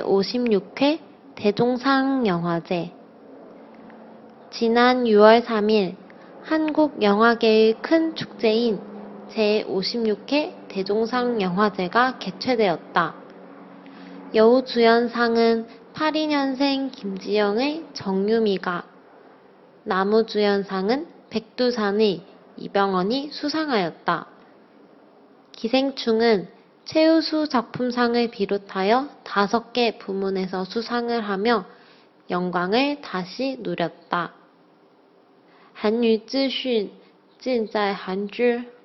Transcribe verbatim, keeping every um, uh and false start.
제오십육 회 대종상 영화제. 지난 유월 삼일 한국 영화계의 큰 축제인 제오십육 회 대종상 영화제가 개최되었다. 여우주연상은 팔십이 년생 김지영의 정유미가, 나무주연상은 백두산의 이병헌이 수상하였다. 기생충은 최우수 작품상을 비롯하여 다섯 개 부문에서 수상을 하며 영광을 다시 누렸다. 韩语资讯尽在韩知